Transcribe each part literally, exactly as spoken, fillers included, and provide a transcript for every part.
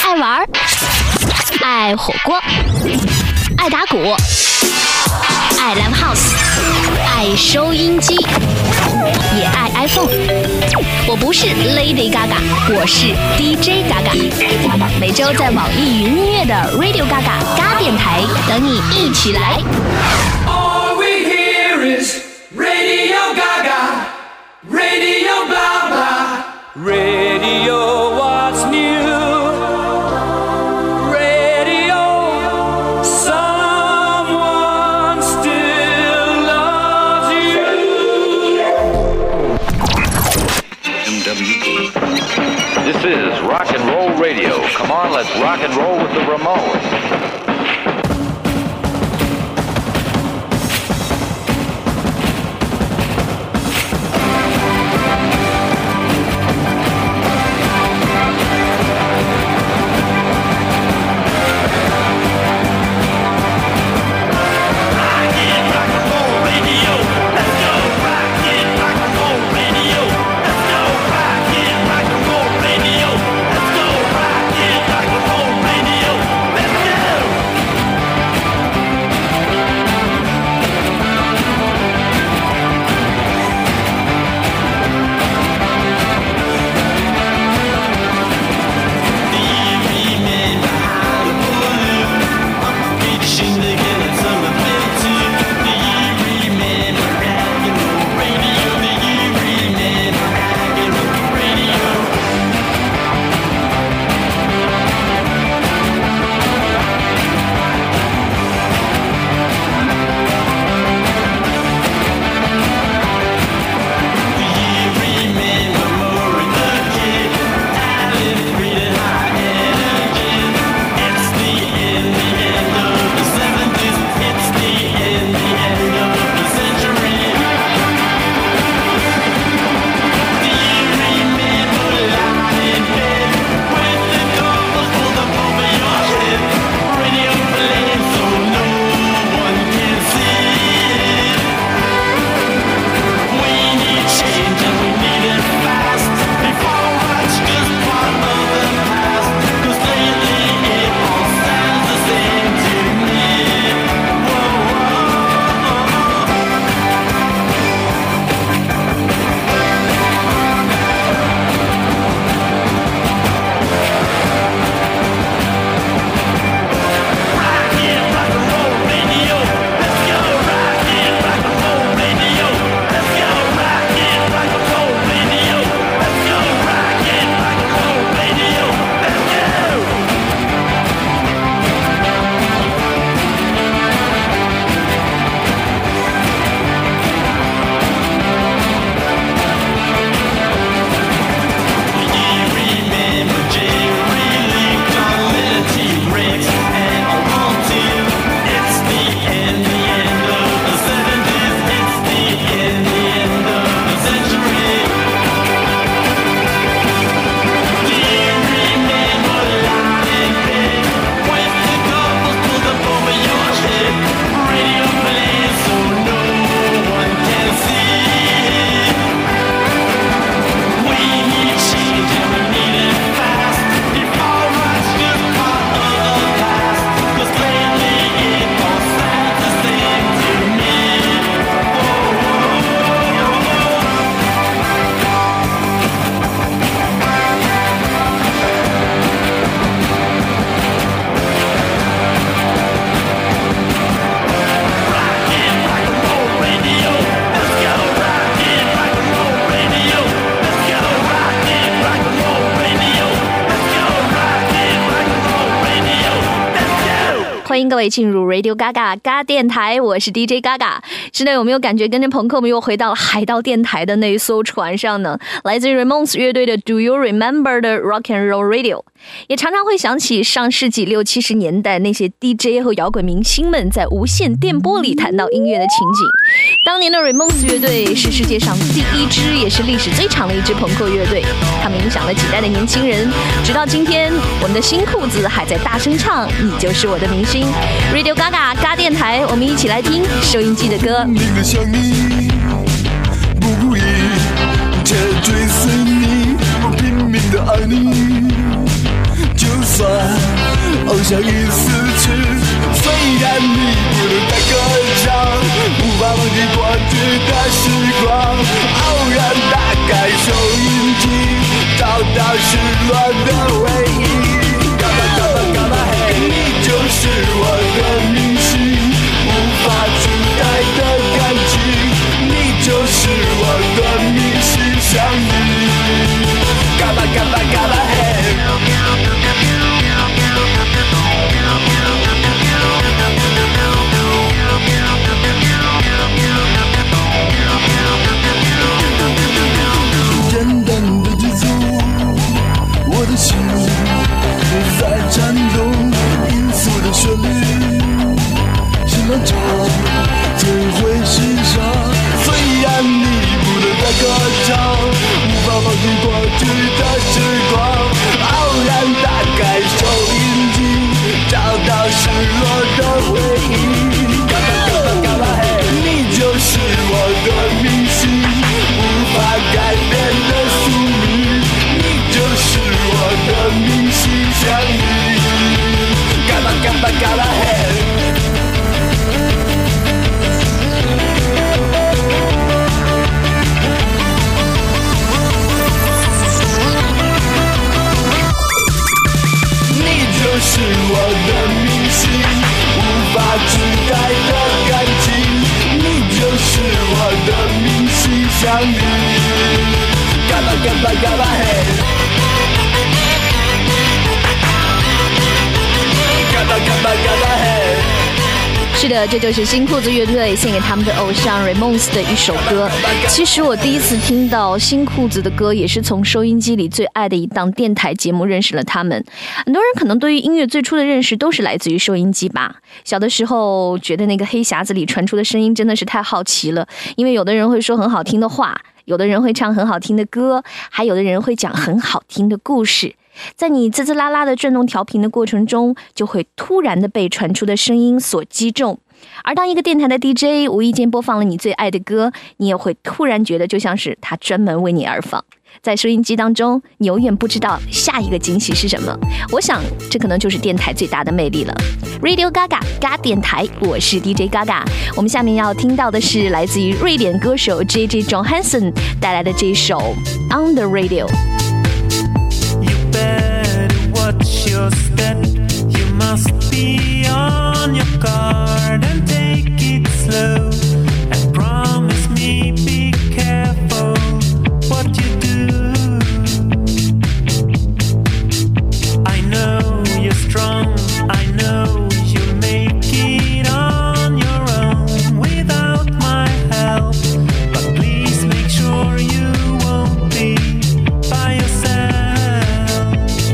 爱玩，爱火锅，爱打鼓，爱 Live House， 爱收音机，也爱 iPhone。我不是 Lady Gaga， 我是 D J Gaga。每周在网易云音乐的 Radio Gaga 嘎电台等你一起来。 All we hear is Radio Gaga, Radio blah blah, Radio what's new, Radio someone still loves you. M W E. This is rock and roll radio. Come on, let's rock and roll with the Ramones. 欢迎各位进入 Radio Gaga 嘎电台，我是 D J Gaga。是的，有没有感觉跟着朋克们又回到了海盗电台的那一艘船上呢？来自于 Ramones 乐队的 Do You Remember 的 Rock and Roll Radio， 也常常会想起上世纪六七十年代那些 D J 和摇滚明星们在无线电波里谈到音乐的情景。当年的 Ramones 乐队是世界上第一支也是历史最长的一支朋克乐队，他们影响了几代的年轻人，直到今天我们的新裤子还在大声唱你就是我的明星。 Radio Gaga 嘎电台，我们一起来听收音机的歌。 真的想你，不故意，却追随你，我拼命的爱你，就算像一丝刺。虽然你不能再歌唱，无法忘记过去的时光。偶然打开收音机，找到失落的回忆。嘎巴嘎巴嘎巴嘿，你就是我的明星，无法取代的感情。你就是我的明星相遇。嘎巴嘎巴嘎巴嘿。简单的剧组，我的心在颤动，音速的旋律是漫长，最会欣赏。虽然你不能再歌唱，无法忘记过去的时光。偶然打开收音机，找到失落的回忆。嘎巴嘎巴嘎巴嘿，你就是我的明星，无法改变的宿命。你就是我的明星相遇。嘎巴嘎巴嘎巴嘿。是我的明星，无法取代的感情。你就是我的明星相遇。嘎巴嘎巴嘎巴嘿，嘎巴嘎巴嘎巴嘿。 是的，这就是新裤子乐队献给他们的偶像 Ramones 的一首歌。其实我第一次听到新裤子的歌，也是从收音机里最爱的一档电台节目认识了他们。很多人可能对于音乐最初的认识都是来自于收音机吧。小的时候觉得那个黑匣子里传出的声音真的是太好奇了，因为有的人会说很好听的话，有的人会唱很好听的歌，还有的人会讲很好听的故事。在你滋滋啦啦的转动调频的过程中，就会突然的被传出的声音所击中。而当一个电台的 D J 无意间播放了你最爱的歌，你也会突然觉得就像是他专门为你而放。在收音机当中，你永远不知道下一个惊喜是什么。我想这可能就是电台最大的魅力了。 Radio Gaga 嘎电台，我是 D J Gaga。 我们下面要听到的是来自于瑞典歌手 J J Johansson 带来的这首 On the Radio。You better watch your step. You must be on your guard and take it slow. And promise me be careful what you do. I know you're strong. I know you'll make it on your own without my help. But please make sure you won't be by yourself.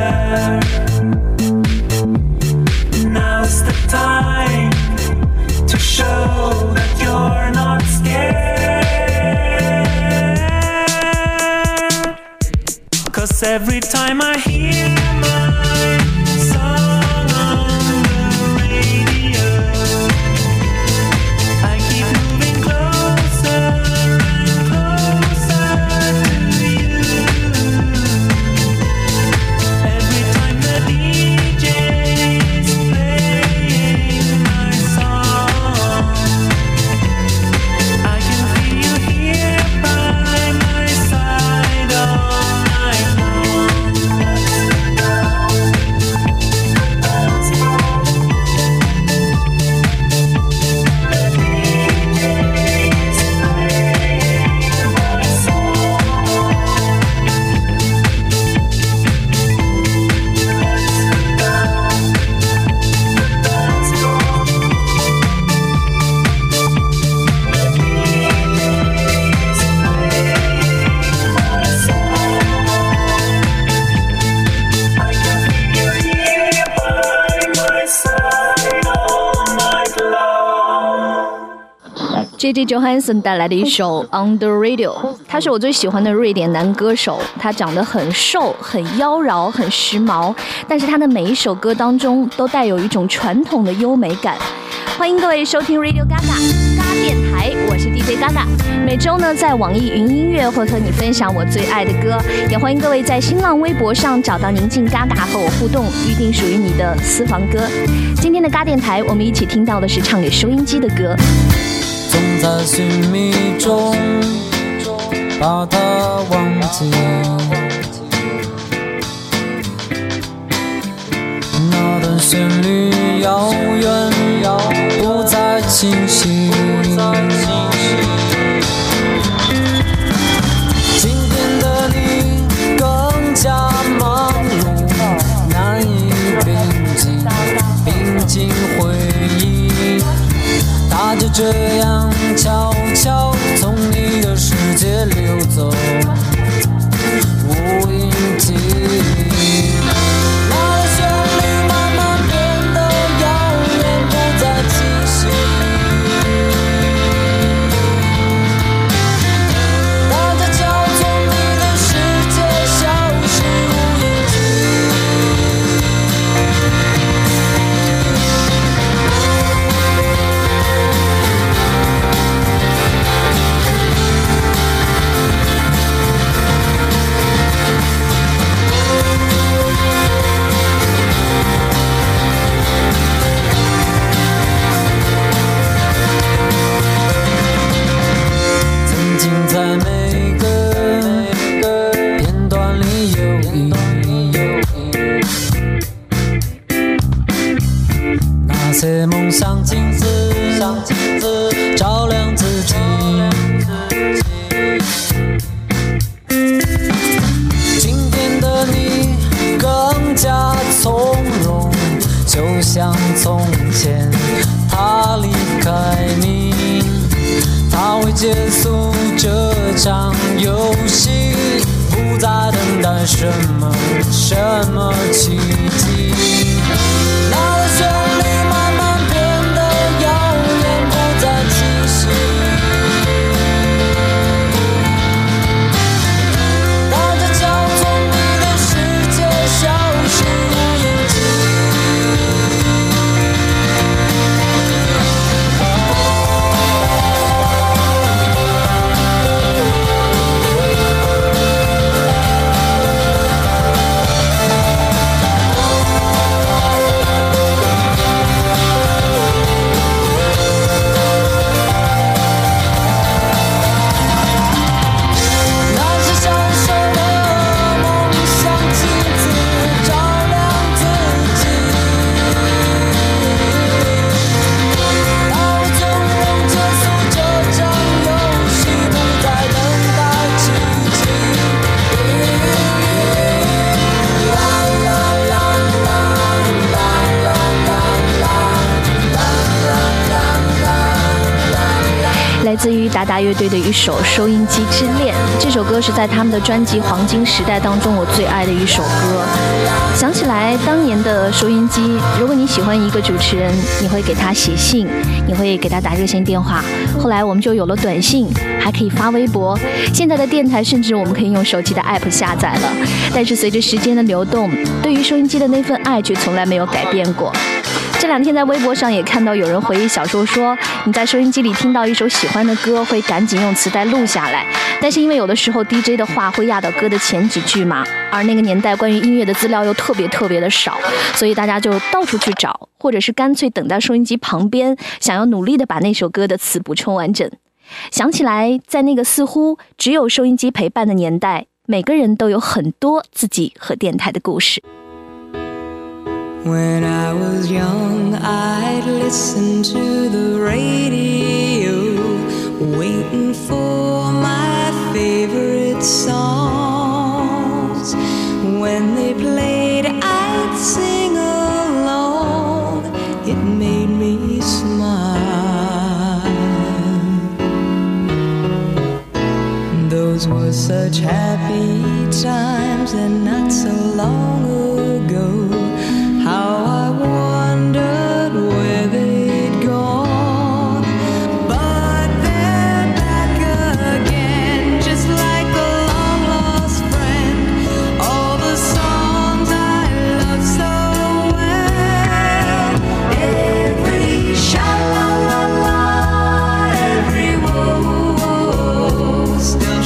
there. Now's the time to show that you're not scared. 'Cause every time I hear my song on the radio, I keep moving closer and closer to you. Every time the D J is playing my song, I can feel you here by my side all night long. J J Johansson 带来的一首 On the Radio， 他是我最喜欢的瑞典男歌手，他长得很瘦，很妖娆，很时髦，但是他的每一首歌当中都带有一种传统的优美感。欢迎各位收听 Radio Gaga 嘎电台，我是 D J Gaga。每周呢，在网易云音乐会和你分享我最爱的歌，也欢迎各位在新浪微博上找到宁静 Gaga 和我互动，预定属于你的私房歌。今天的嘎电台，我们一起听到的是唱给收音机的歌。 总在寻觅中把它忘记，那段旋律遥远，不再清晰。今天的你更加忙碌，难以平静，平静回忆。它就这样悄悄从你的世界溜走，无影迹。那的旋律慢慢变得遥远，不再清晰。它悄悄从你的世界消失无影迹。在每个片段里有意义，那些梦想镜子照亮自己。今天的你更加从容，就像从前他离开你，他会结束这场游戏，不再等待什么什么奇迹。那的旋律慢慢变得遥远，不再清晰。它悄悄从你的世界消失无影迹。 自于达达乐队的一首《收音机之恋》。这首歌是在他们的专辑《黄金时代》当中我最爱的一首歌。想起来当年的收音机，如果你喜欢一个主持人，你会给他写信，你会给他打热线电话。后来我们就有了短信，还可以发微博。现在的电台甚至我们可以用手机的 app 下载了。但是随着时间的流动，对于收音机的那份爱却从来没有改变过。这两天在微博上也看到有人回忆小说说，你在收音机里听到一首喜欢的歌，会赶紧用磁带录下来，但是因为有的时候 D J 的话会压到歌的前几句嘛，而那个年代关于音乐的资料又特别特别的少，所以大家就到处去找，或者是干脆等在收音机旁边，想要努力的把那首歌的词补充完整。想起来在那个似乎只有收音机陪伴的年代，每个人都有很多自己和电台的故事。 When I was young, I'd listen to the radio, waiting for my favorite songs. When they played, I'd sing along. It made me smile. Those were such happy times and not so long ago.How I wondered where they'd gone, but they're back again, just like a long-lost friend. All the songs I love so well, every sha-la-la-la, every woe still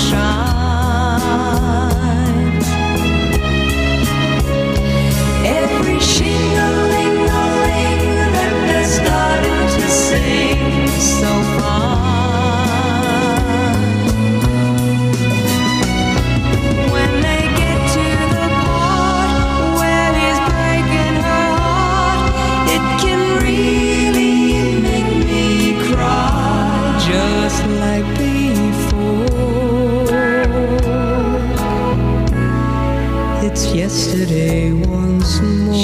shines.Every shing-a-ling-a-ling that they're starting to sing so fine. When they get to the part where he's breaking her heart, it can really make me cry, just like before.It's yesterday once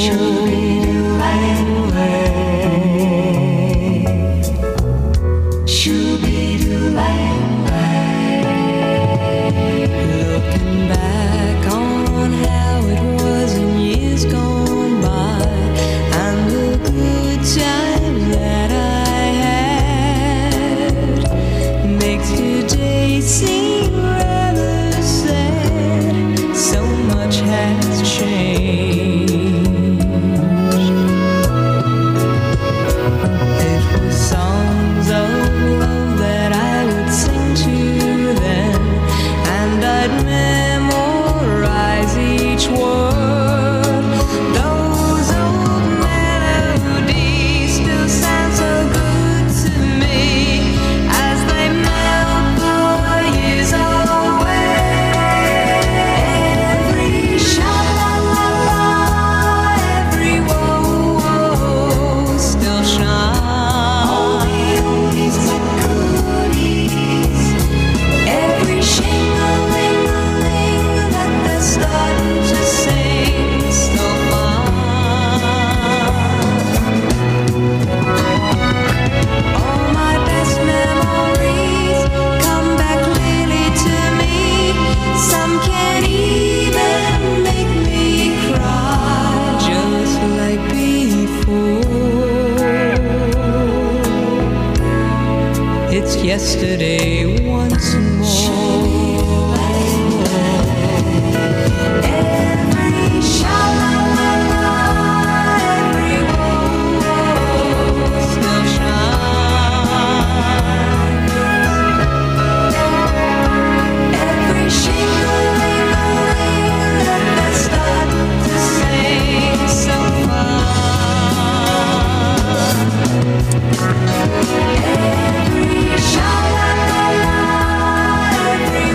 more.Looking back on how it was in years gone by, and the good times that I had, makes today seem rather sad. So much has changed.It was songs of love that I would sing to them, and I'd memorize each word. Those old melodies still sound so good to me as they melt the years away.Every sha-la-la-la, every woe still shines.All the oldies but goodies, every shing-a-ling-a-ling that they're starting to sing so fine.All my best memories come back clearly to me. Some can even make me cry, just like before.It's yesterday once more.Every sha-la-la-la, every woe still shines.Every shing-a-ling-a-ling that they start to sing so fine.Every sha-la-la-la, every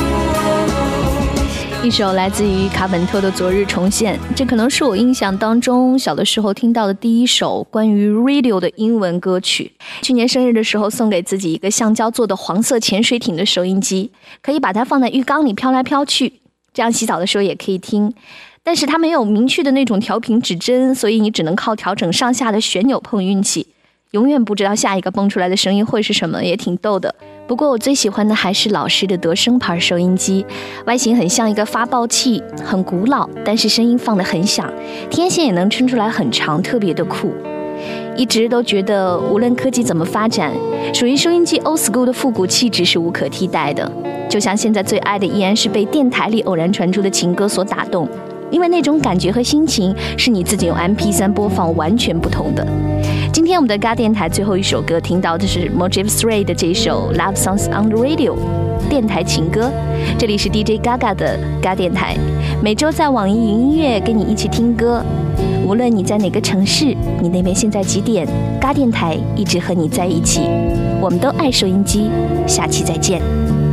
woe 一首来自于卡本特的《昨日重现》，这可能是我印象当中小的时候听到的第一首关于 radio 的英文歌曲。去年生日的时候送给自己一个橡胶做的黄色潜水艇的收音机，可以把它放在浴缸里飘来飘去，这样洗澡的时候也可以听。但是它没有明确的那种调频指针，所以你只能靠调整上下的旋钮碰运气，永远不知道下一个蹦出来的声音会是什么，也挺逗的。 不过我最喜欢的还是老式的德声牌收音机，外形很像一个发报器，很古老，但是声音放得很响，天线也能撑出来很长，特别的酷。一直都觉得无论科技怎么发展，属于收音机 old school 的复古气质是无可替代的。就像现在最爱的依然是被电台里偶然传出的情歌所打动，因为那种感觉和心情是你自己用 M P 三 播放完全不同的。今天我们的嘎电台最后一首歌听到的是 Motive three 的这首 Love Songs on the Radio 电台情歌。这里是 D J Gaga 的嘎电台，每周在网易云音乐跟你一起听歌，无论你在哪个城市，你那边现在几点，嘎电台一直和你在一起。我们都爱收音机，下期再见。